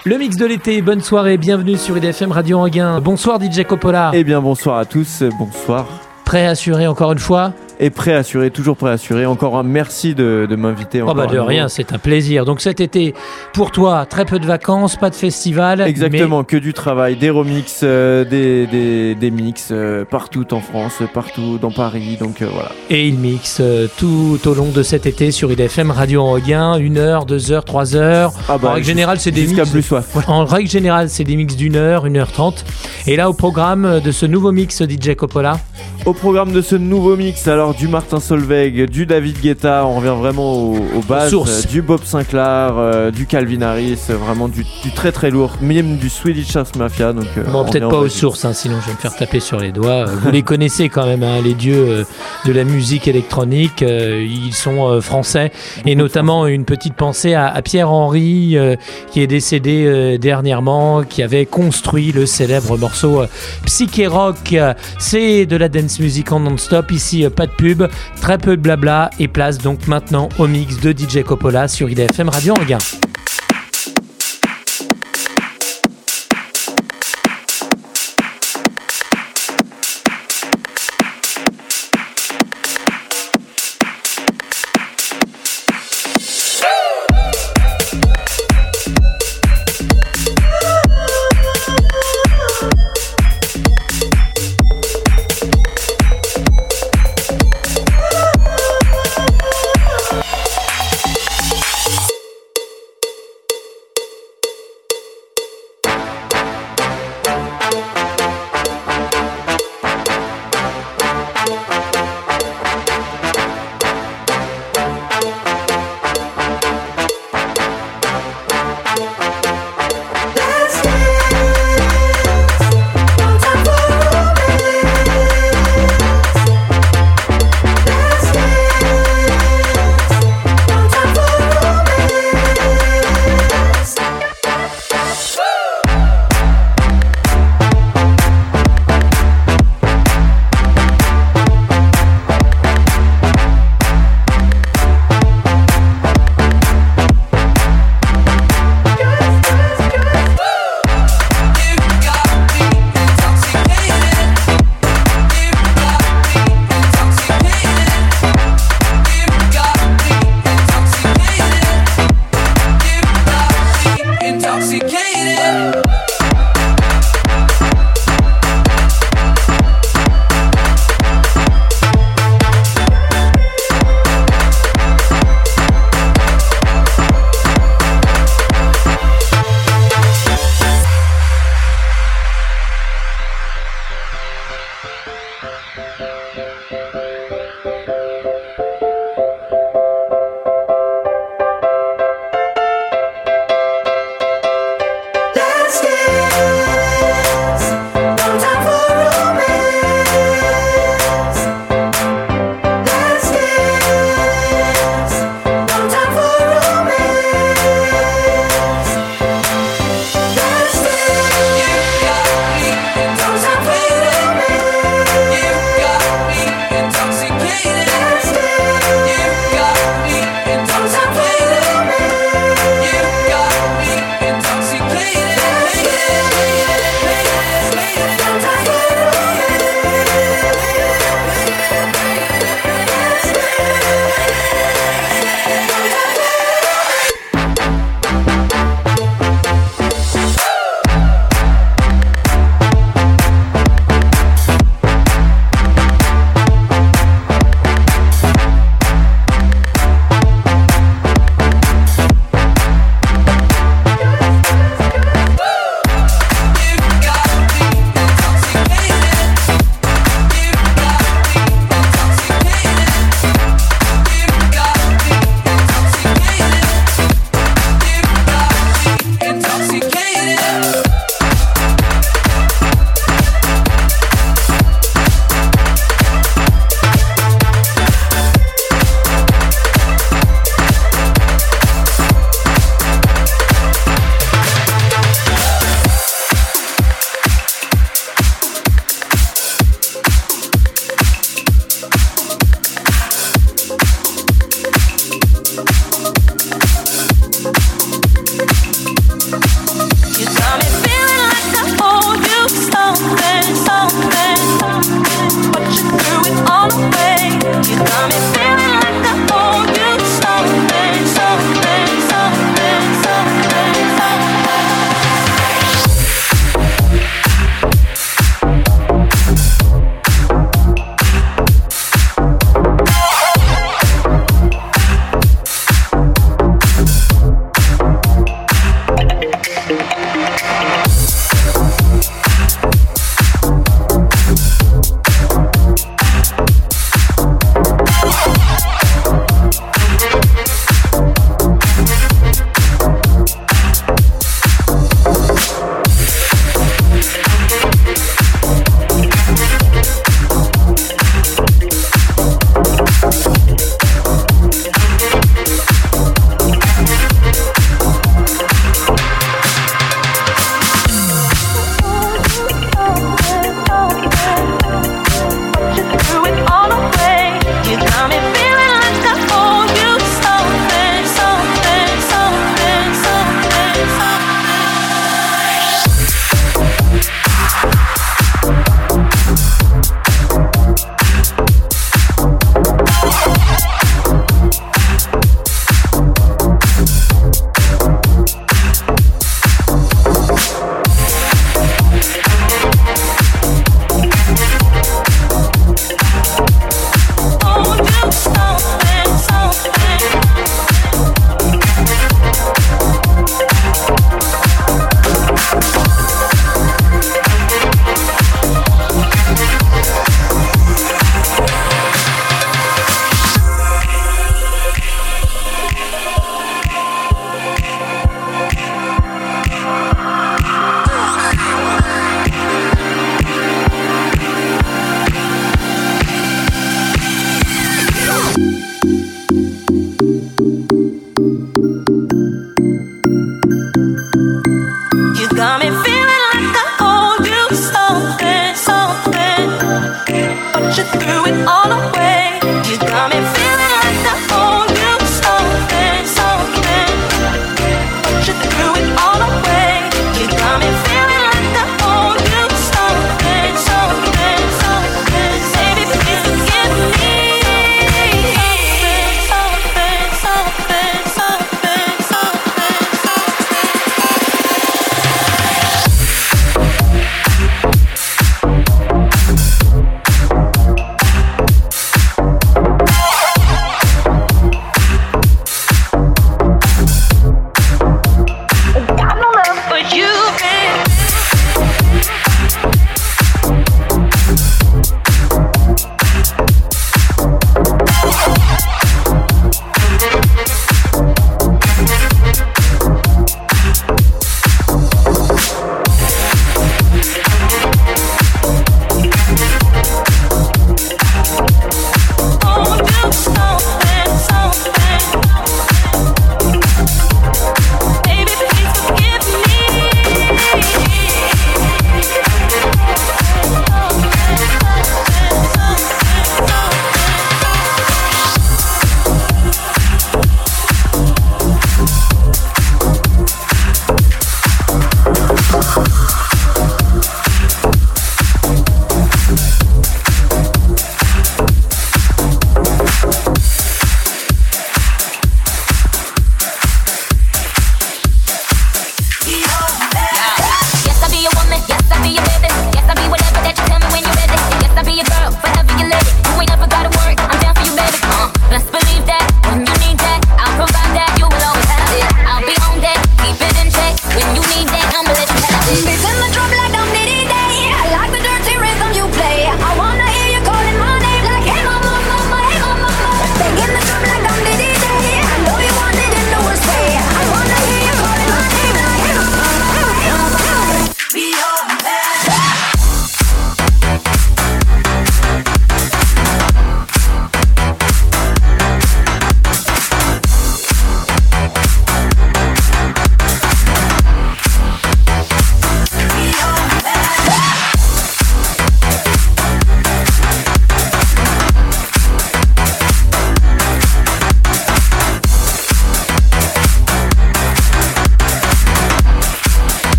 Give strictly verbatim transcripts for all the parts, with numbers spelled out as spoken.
Le mix de l'été, bonne soirée, bienvenue sur I D F M Radio Anguin. Bonsoir D J Coppola. Eh bien bonsoir à tous, bonsoir. Prêt à assurer encore une fois ? Et prêt à assurer, toujours prêt à assurer. Encore un merci de, de m'inviter. Oh bah de rien, c'est un plaisir. Donc cet été, pour toi, très peu de vacances, pas de festival. Exactement, mais... que du travail, des remixes, euh, des, des, des mix euh, partout en France, partout dans Paris. Donc euh, voilà. Et il mixe euh, tout au long de cet été sur I D F M Radio Anguin, une heure, deux heures, trois heures. Ah bah, en règle générale, c'est des jusqu'à mix. Plus soif. En règle générale, c'est des mix d'une heure, une heure trente. Et là, au programme de ce nouveau mix, D J Coppola. Au programme de ce nouveau mix, alors du Martin Solveig, du David Guetta, on revient vraiment aux, aux bases, Source. du Bob Sinclair, euh, du Calvin Harris, vraiment du, du très très lourd, même du Swedish House Mafia. Donc, euh, bon, peut-être pas aux sources, hein, sinon je vais me faire taper sur les doigts. Vous les connaissez quand même, hein, les dieux euh, de la musique électronique. Euh, ils sont euh, français, et notamment une petite pensée à, à Pierre Henry, euh, qui est décédé euh, dernièrement, qui avait construit le célèbre morceau euh, Psyché Rock. C'est de la dance music en non-stop. Ici, euh, pas de pub, très peu de blabla, et place donc maintenant au mix de D J Coppola sur I D F M Radio Anguin. Let's get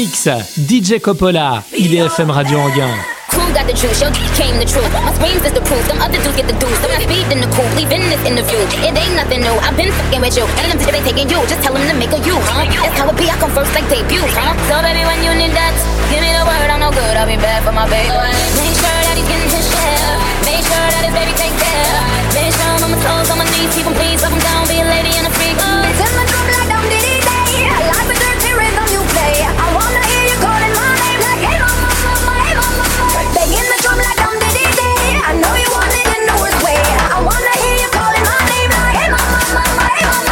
Mix, D J Coppola, I D F M Radio Anguin. Crew got the juice, yo came the truth. My screams is the proof, them other dudes get the deuce. So I speed in the coupe, leaving this interview. It ain't nothing new, I've been fucking with you. And them bitches ain't taking you, just tell them to make a you, huh? That's how it be, I come first like debut, huh? So baby, when you need that, give me the word, I'm no good, I'll be bad for my baby. Make sure that he's getting his share. Make sure that his baby take care. Make sure I'm on my toes, on my knees, keep him please, up and down, be a lady and a freak. Tell my drum like Dum Diddy Day, like a dirty rhythm you play. I wanna hear you calling my name like hey mama, mama, hey mama. Banging the drum like Dum Diddy Day. I know you want it in the worst way. I wanna hear you calling my name like hey mama, mama, hey mama.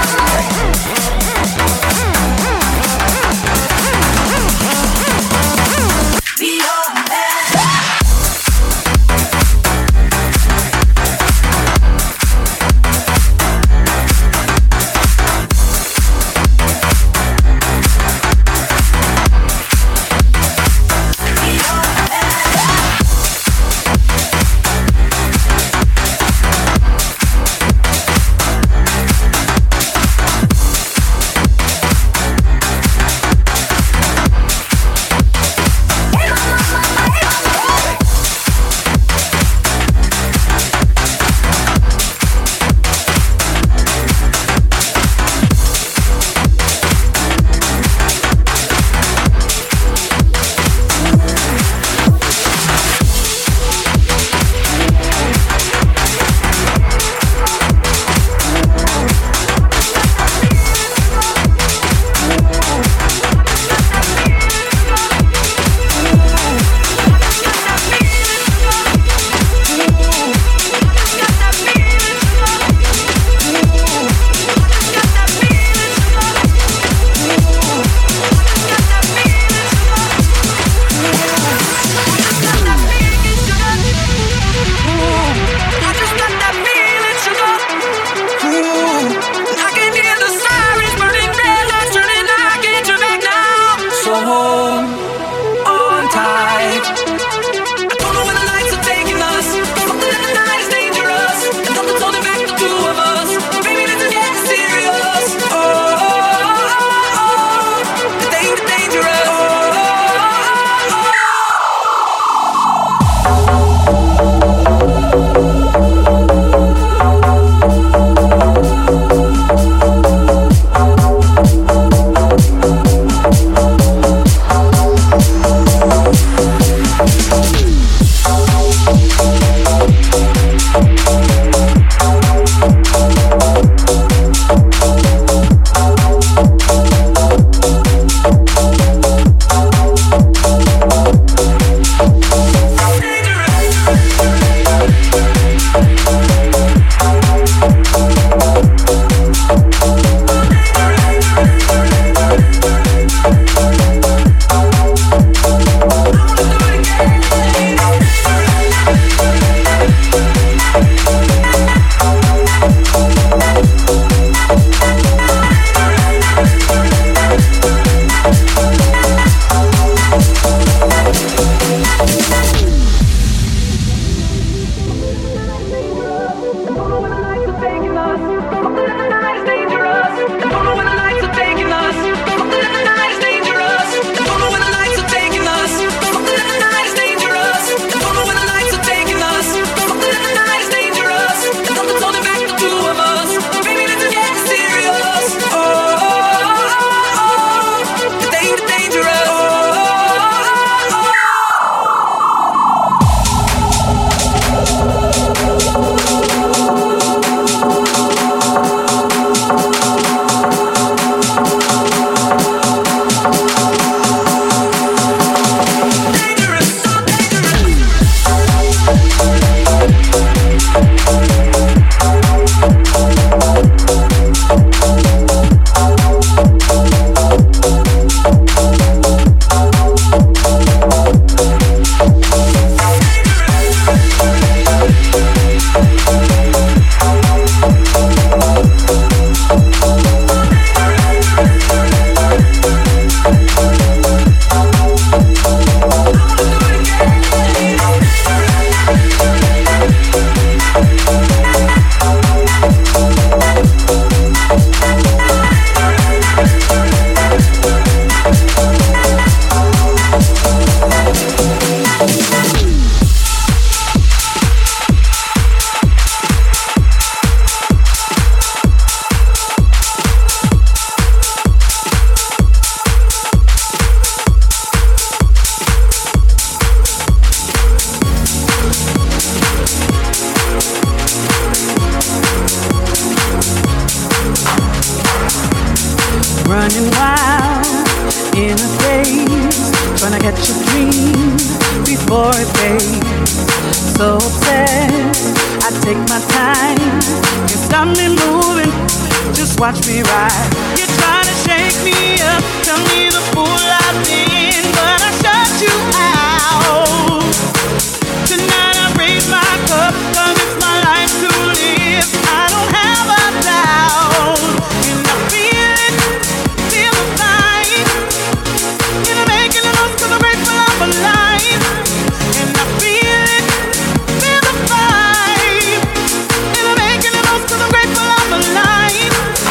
Be your running wild in a daze, trying to catch a dream before it fades. So obsessed, I take my time. You stop me moving, just watch me ride. You try to shake me up, tell me the fool I've been, but I shut you out. Tonight I raise my cup, cause it's my life to live. I don't have a doubt, and I feel it, feel the fight. And I'm making the most cause I'm grateful I'm alive. And I feel it, feel the fight. And I'm making the most cause I'm grateful I'm alive.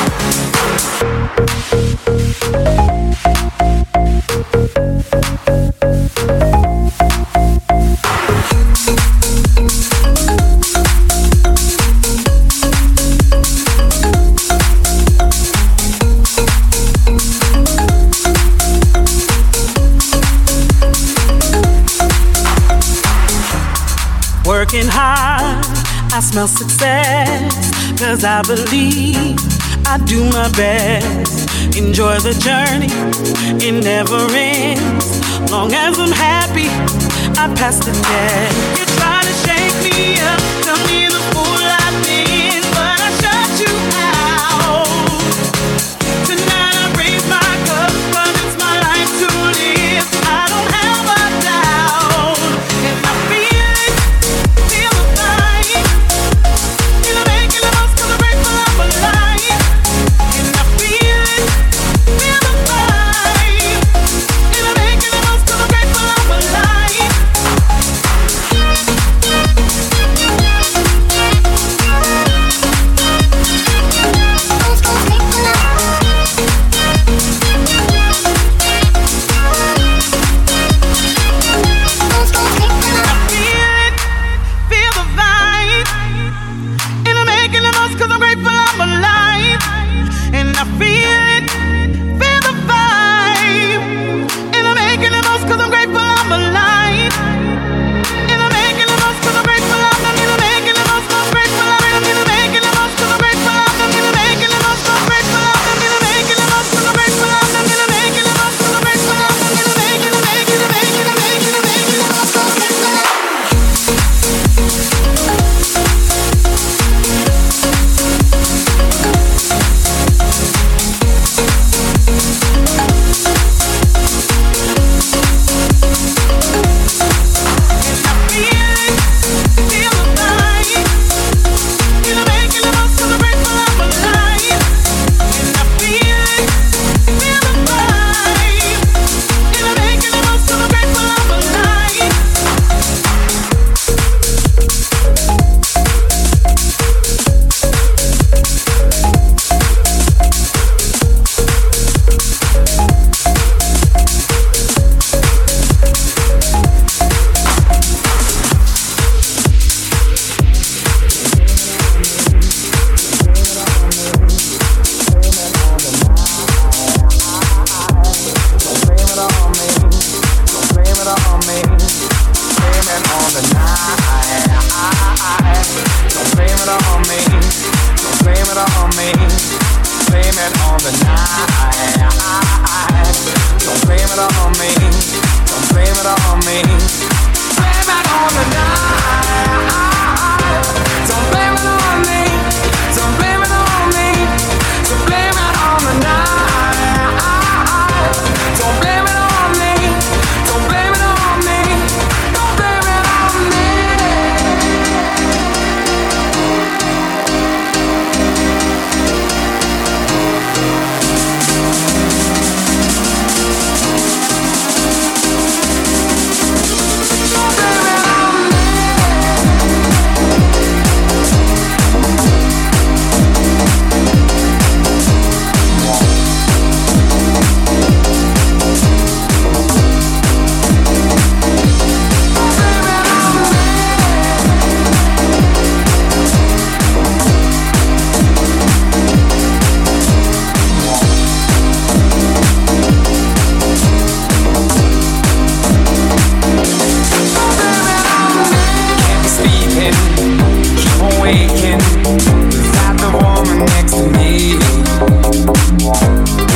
Working hard, I smell success, cause I believe I do my best. Enjoy the journey, it never ends. Long as I'm happy, I pass the test. You try to shake me up, tell me the fool I've been, but I shut you out. Tonight I raise my cup, cause it's my life to live. I don't have a doubt, and I feel it, feel the fight. And I'm making the most cause I'm grateful I'm alive. And I feel it, feel the fight. And I'm making the most cause I'm grateful I'm alive.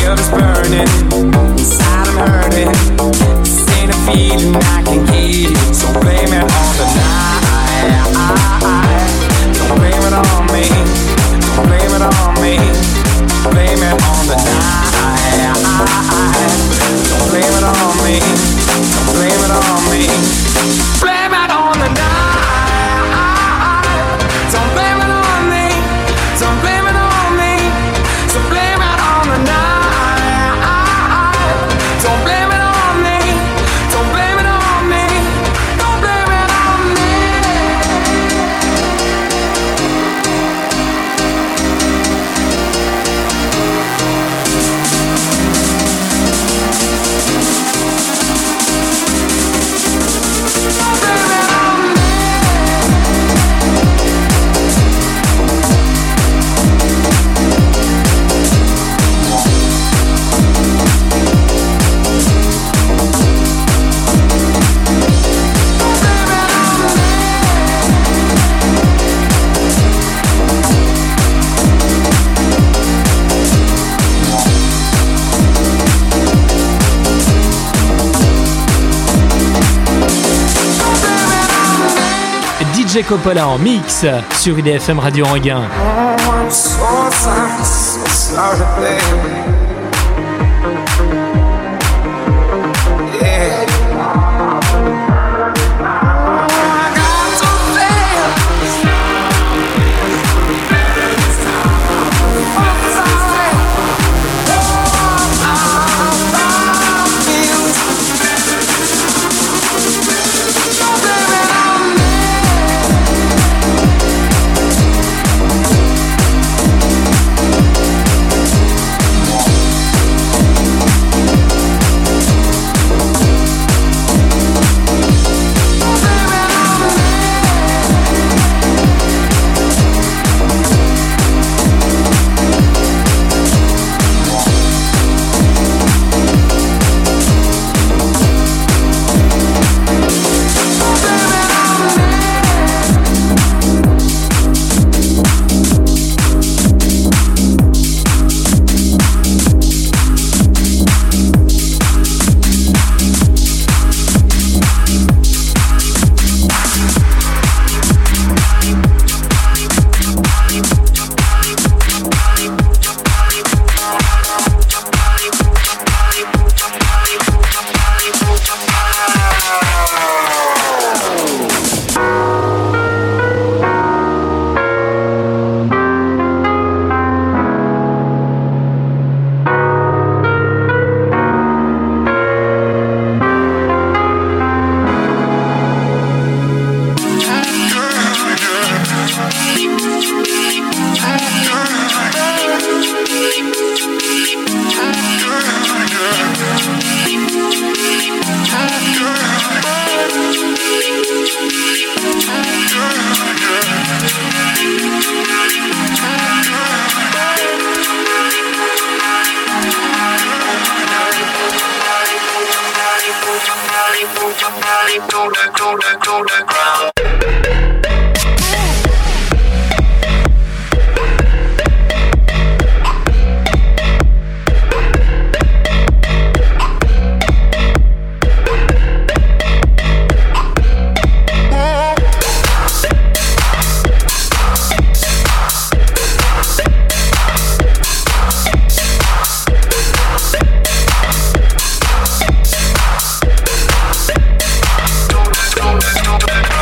guilt is burning, inside I'm hurting. This ain't a feeling I can keep, so blame it on the night. Don't blame it on me, don't blame it on me. Blame it on the night. Don't blame it on me, don't blame it on me. Blame it on the night. Don't blame it on me, don't blame it on me. So blame it on the night. Don't blame it on me, don't blame it on me. Don't blame it on me. D J Coppola en mix sur I D F M Radio Anguin. Oh, I'm so sorry, so sorry, baby. Yeah. Don't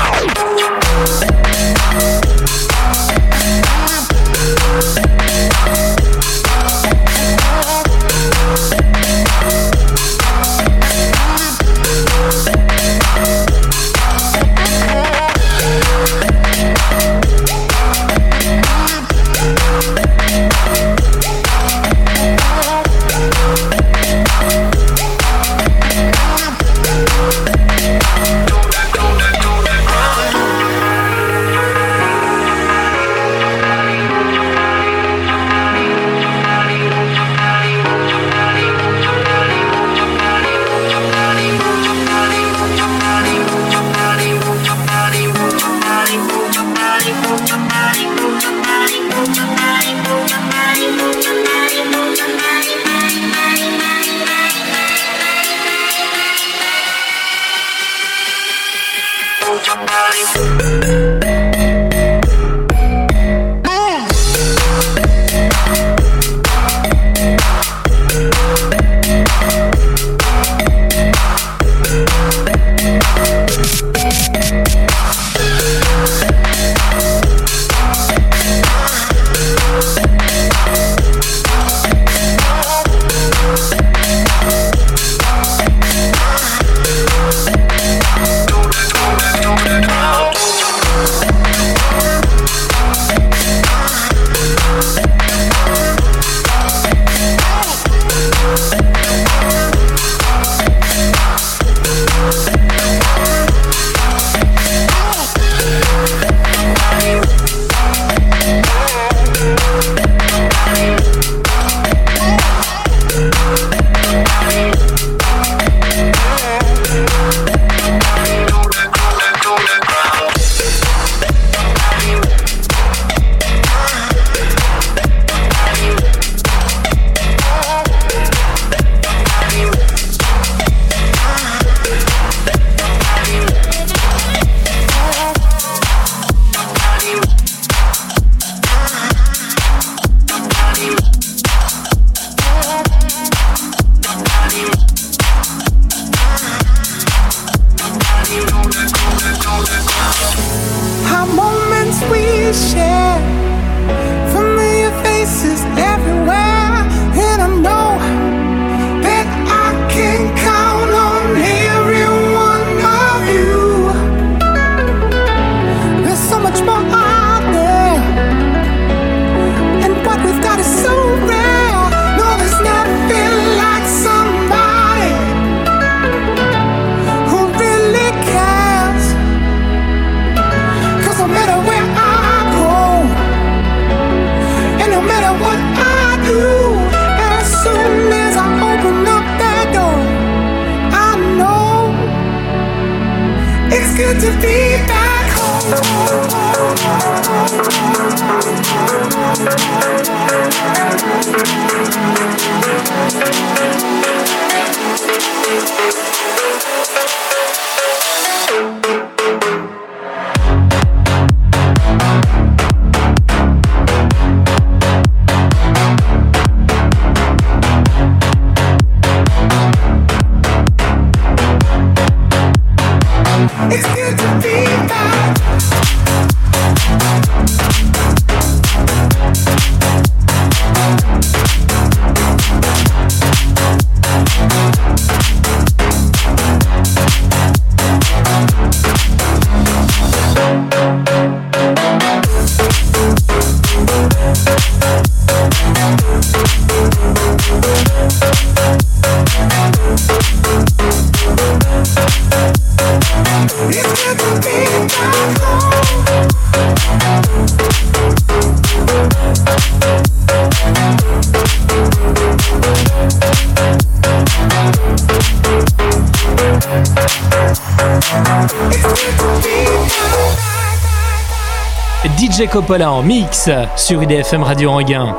D J Coppola en mix sur I D F M Radio Anguin.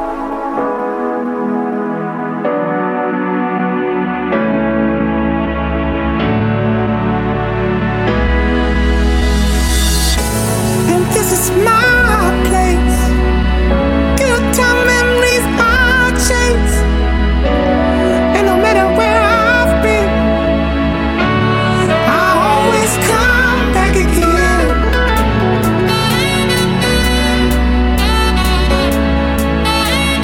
Again.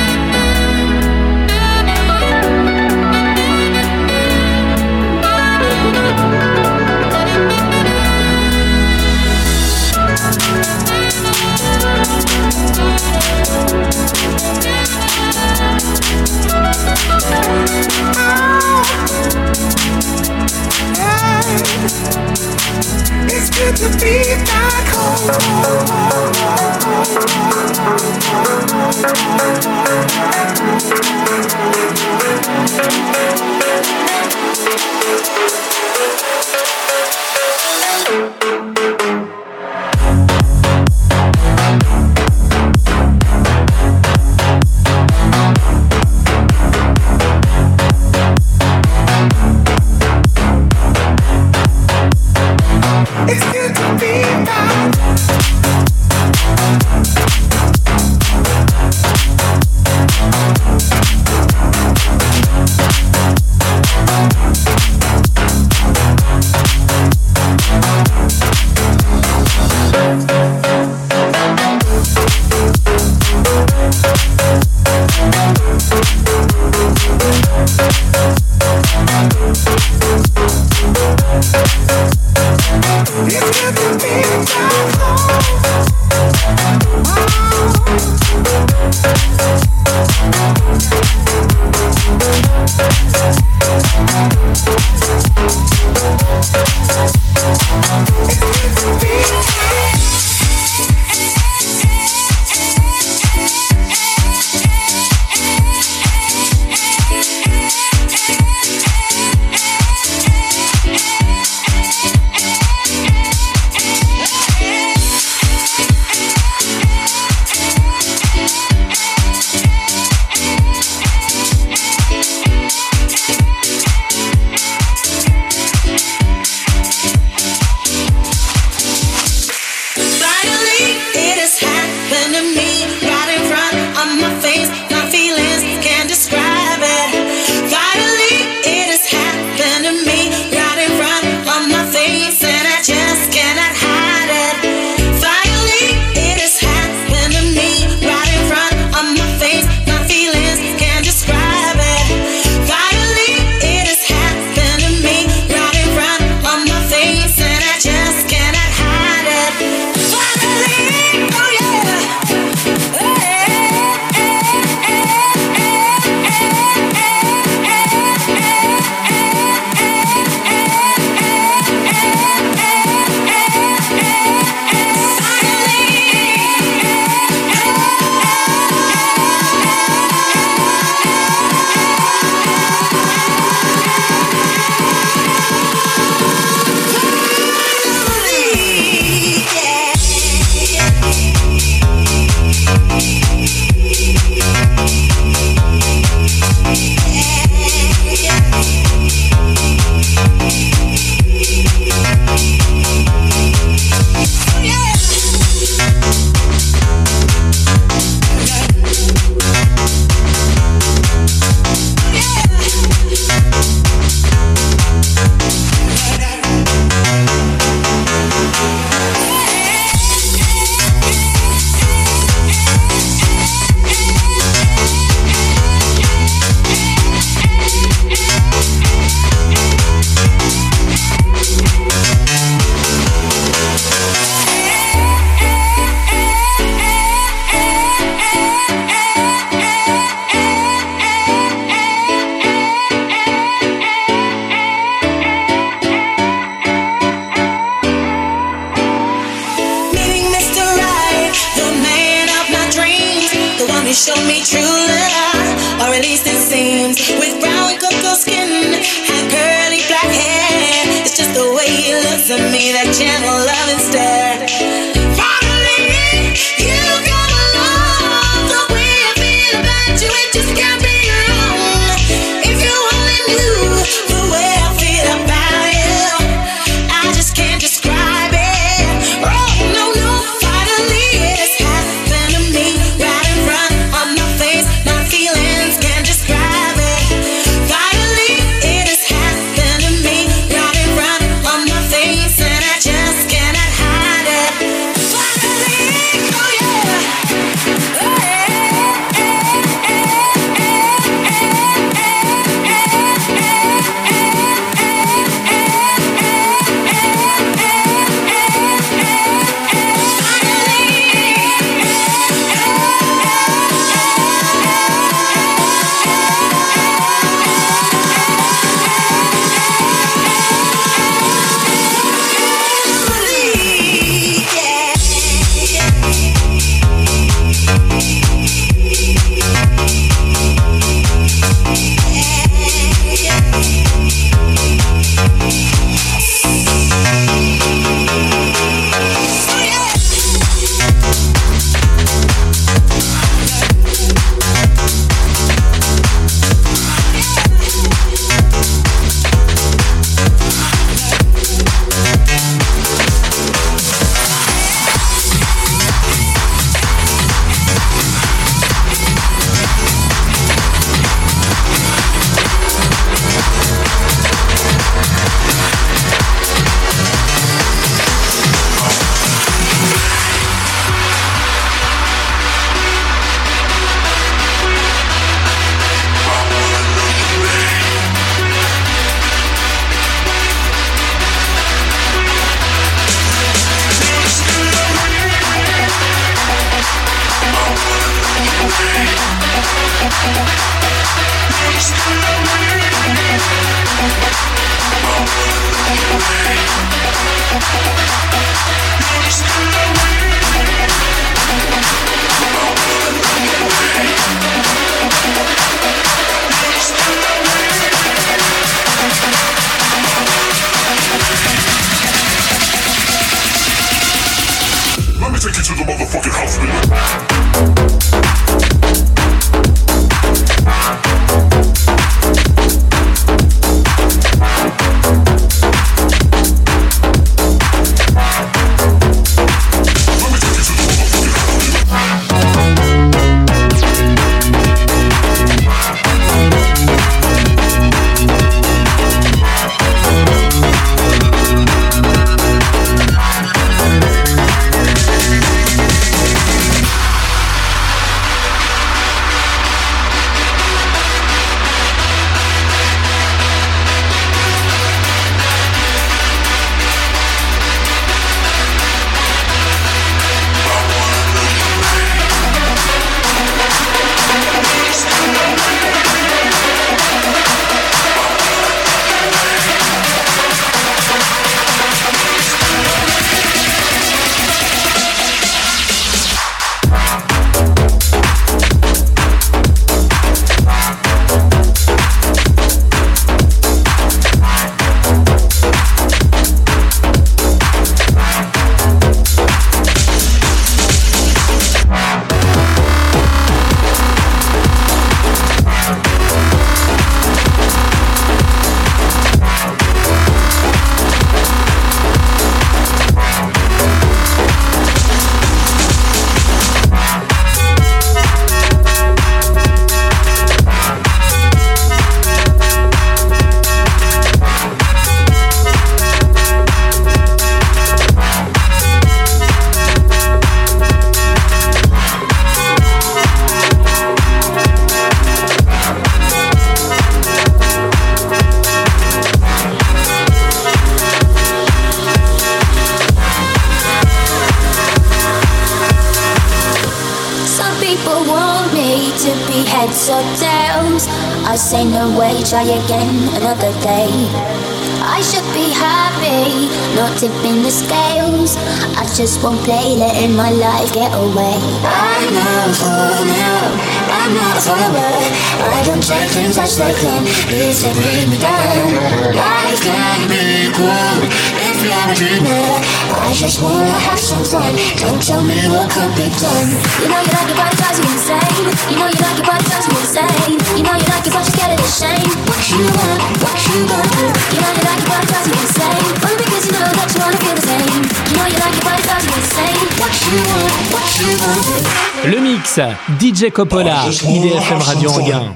of tales. I say no way, try again another day. I should be happy, not tipping the scales. I just won't play, letting my life get away. I'm not a follower, I'm not a follower. I don't take things as they come, if they bring me down. Life can be cool if you're a dreamer. I just wanna have some fun, don't tell me what could be done. You know you like it, but it drives you insane. You know you like it, but it drives you insane. You know you like it, but you're scared of the shame. What you want, what you want. You know you like it, but it drives you insane. Only because you know that you wanna feel the same. You know you like it, but it drives you insane. What you want, what you want. Le mix, D J Coppola, I D F M Radio Anguin.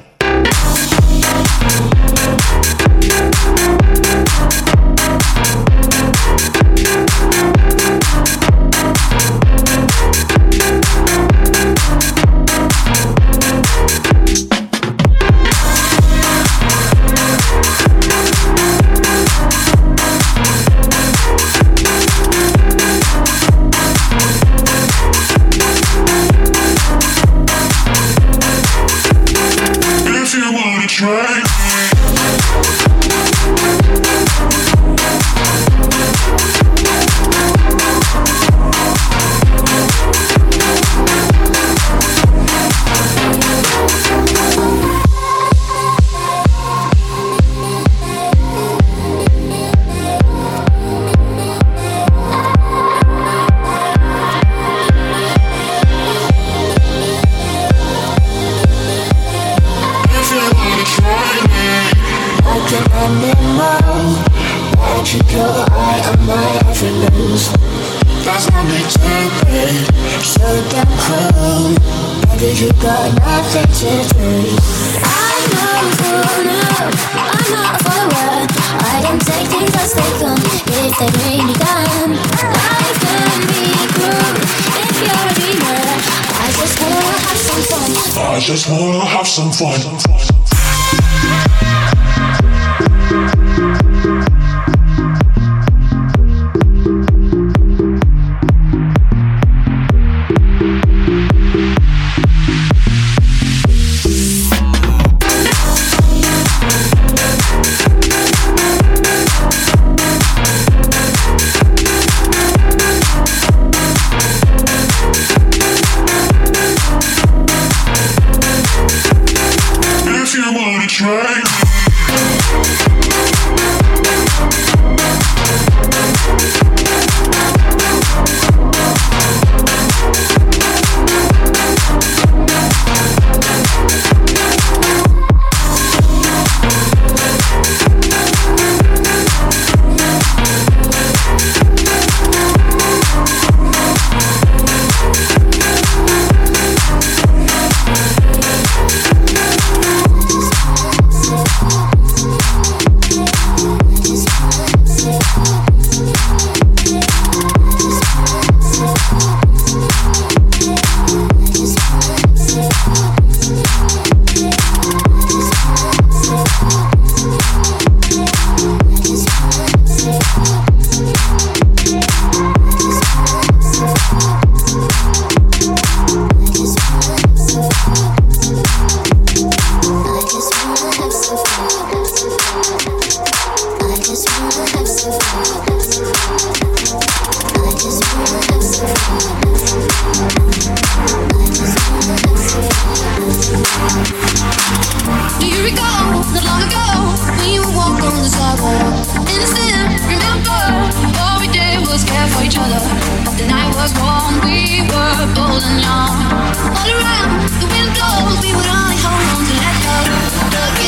I just wanna have some fun.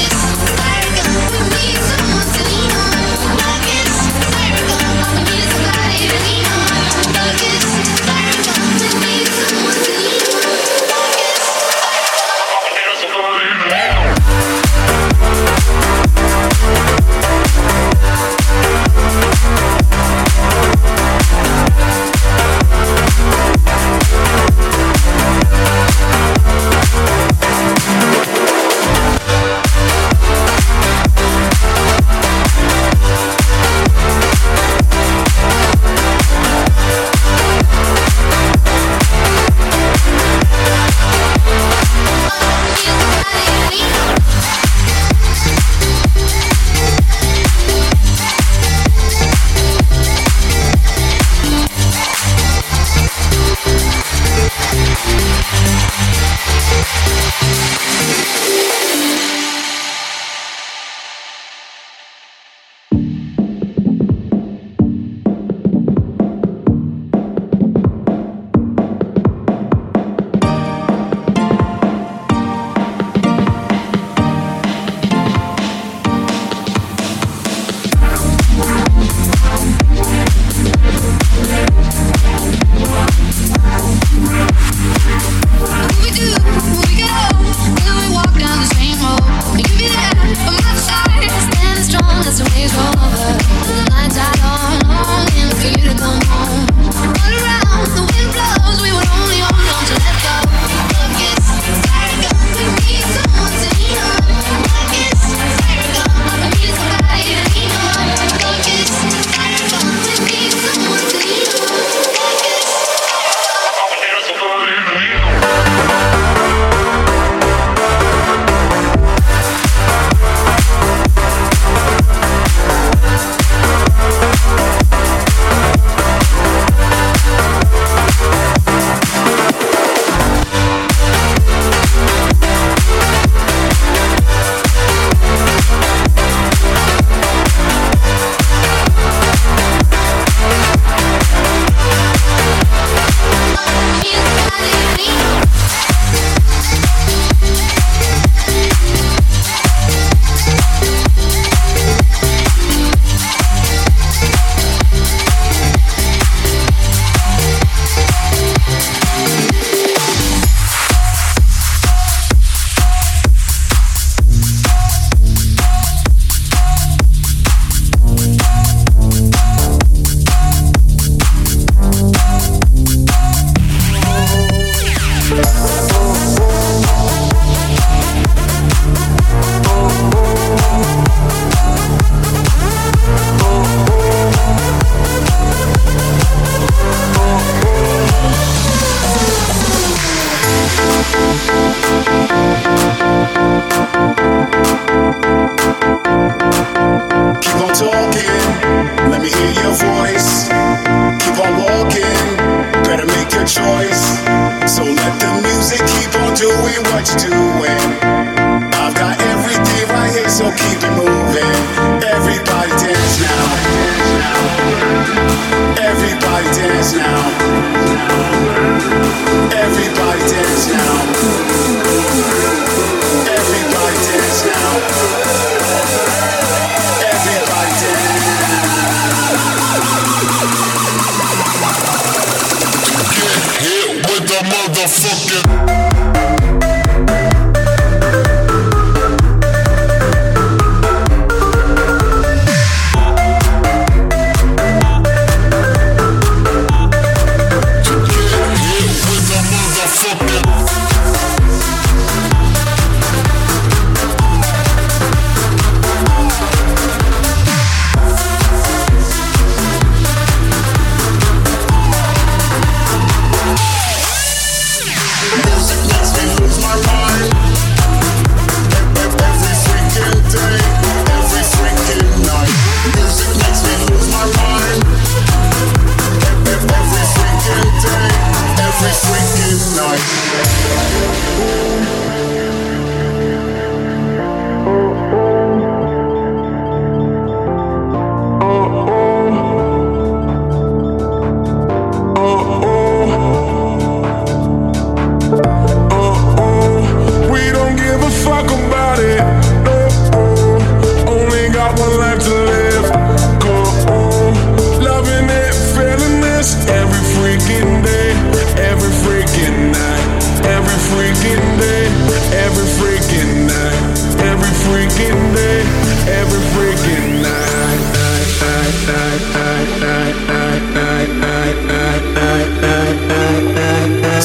Like it's, like it's, like it's, like it's,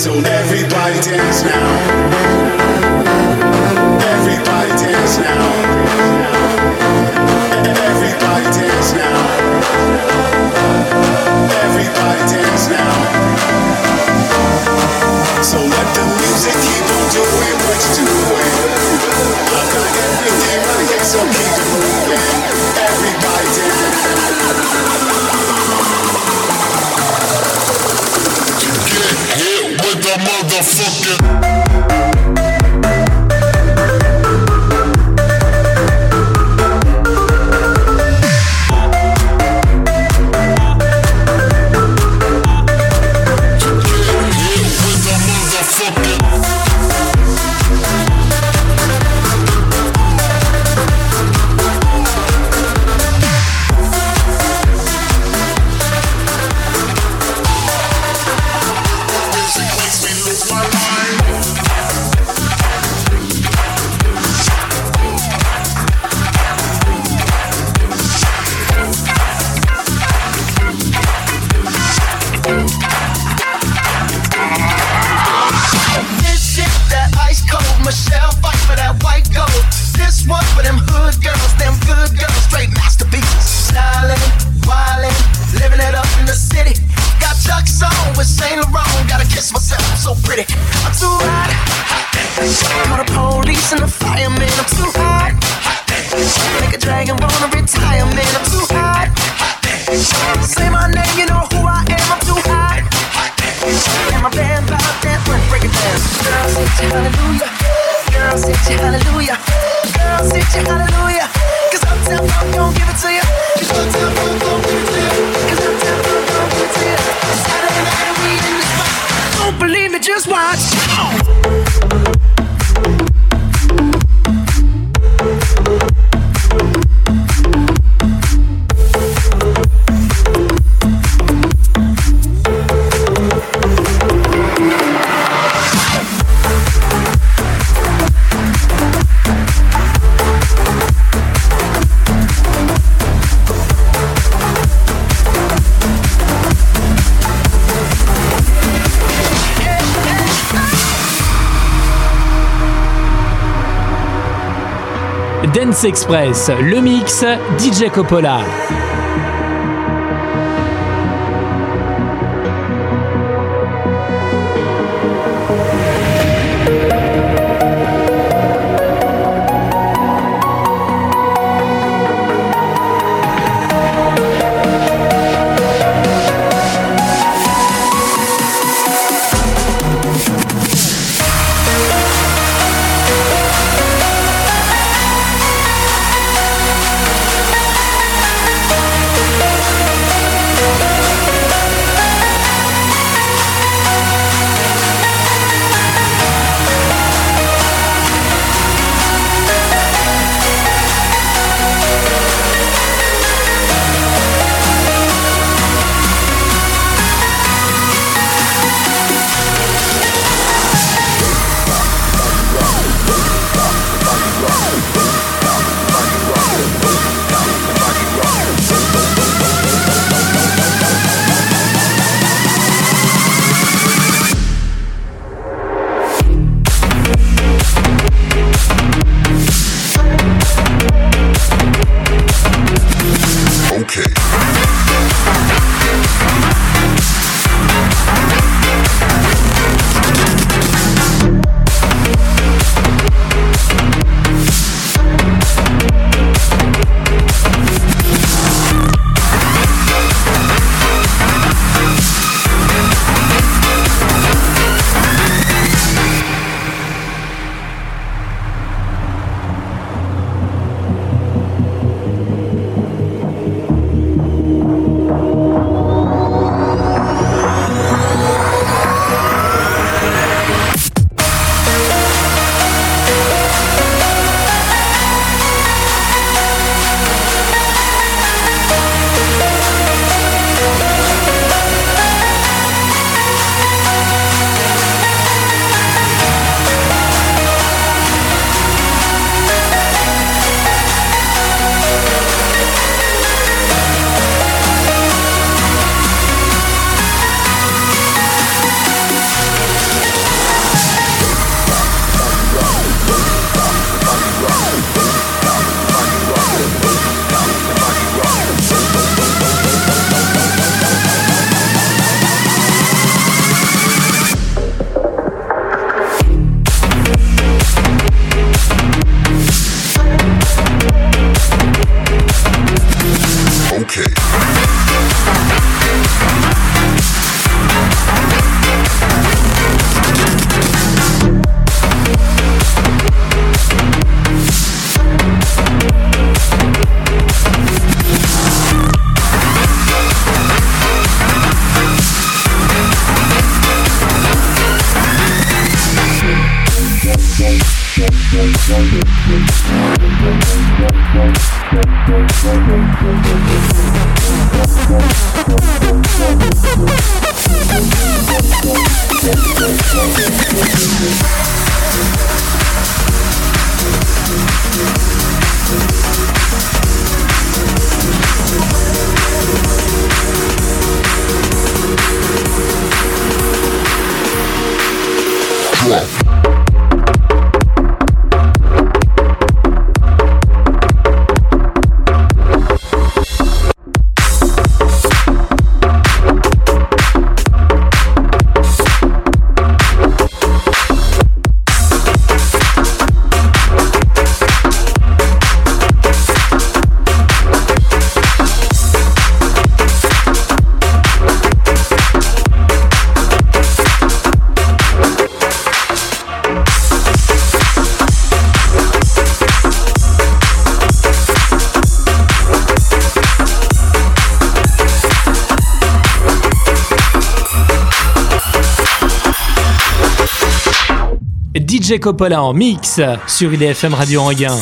So everybody dance now. Everybody dance now. Everybody dance now. Everybody dance now. So let the music keep on doing what it's doing. I got everything right here, so keep it moving. Everybody dance. You get hit with the motherfucking. Dance Express, le mix D J Coppola. Everybody D J Coppola en mix sur I D F M Radio Anguin.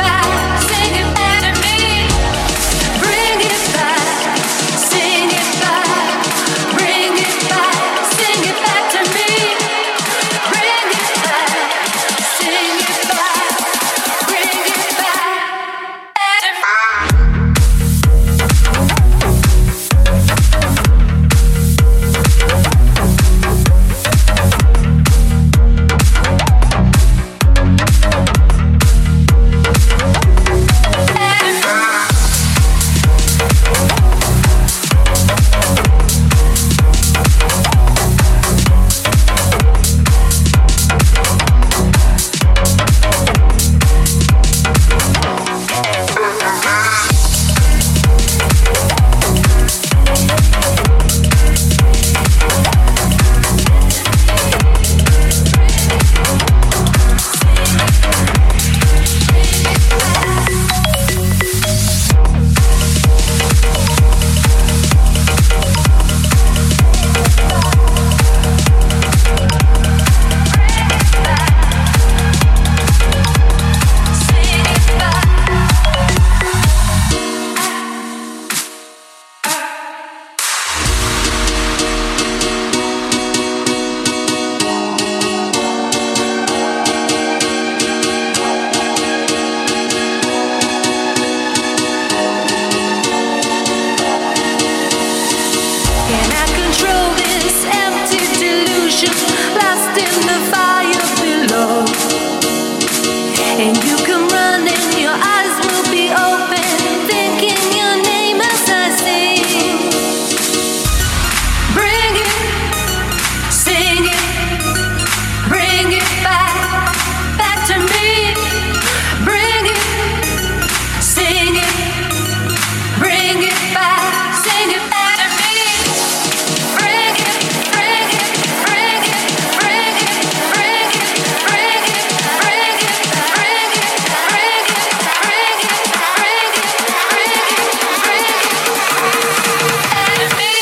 Bring it back, sing it back. ocean, lost in the fire below. And you can run and your eyes will be open, thinking your name as I sing. Bring it, sing it, bring it back, back to me. Bring it, sing it, bring it back, sing it back to me. Bring it, bring it, bring it, bring it, bring it, bring it, bring it, bring it, bring it, bring it, bring it, bring it, bring it back to me.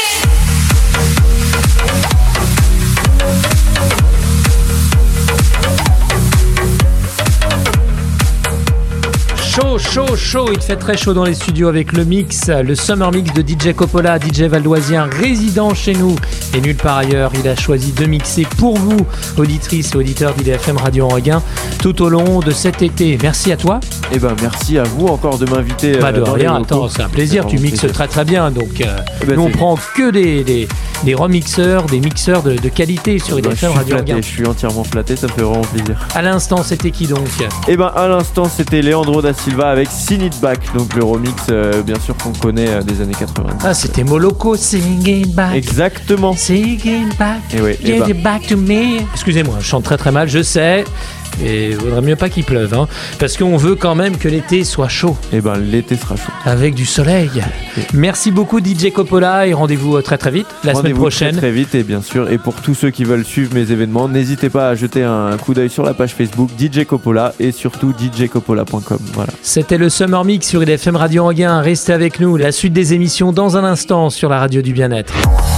Chaud, chaud, chaud, il fait très chaud dans les studios avec le mix, le Summer Mix de D J Coppola, D J valdoisien, résident chez nous et nulle part ailleurs. Il a choisi de mixer pour vous, auditrices et auditeurs d'I D F M Radio Enreguin, tout au long de cet été. Merci à toi. Et ben merci à vous encore de m'inviter. Bah de euh, dans rien, les locaux. attends, c'est un plaisir, C'est tu vraiment mixes plaisir. très très bien. Donc euh, Eh ben, nous on c'est- prend que des, des, des remixeurs, des mixeurs de, de qualité sur Eh I D ben, F je M suis Radio flatté, Enreguin. je suis entièrement flatté, ça me fait vraiment plaisir. À l'instant, c'était qui donc? Et ben à l'instant c'était Leandro da Silva avec Sing It Back, donc le remix euh, bien sûr qu'on connaît euh, des années quatre-vingt-dix. Ah, c'était Moloko, Sing It Back. Exactement. Sing it back, Et oui, get et bah. it back to me. Excusez-moi, je chante très très mal, je sais. Et il vaudrait mieux pas qu'il pleuve, hein, parce qu'on veut quand même que l'été soit chaud, Et ben l'été sera chaud. avec du soleil. Merci beaucoup D J Coppola et rendez-vous euh, très très vite, la semaine Rendez-vous prochaine. très, très vite et bien sûr, et pour tous ceux qui veulent suivre mes événements, n'hésitez pas à jeter un coup d'œil sur la page Facebook D J Coppola et surtout d j coppola point com. Voilà. C'était le Summer Mix sur I D F M Radio Enreguin. Restez avec nous, la suite des émissions dans un instant sur la radio du bien-être.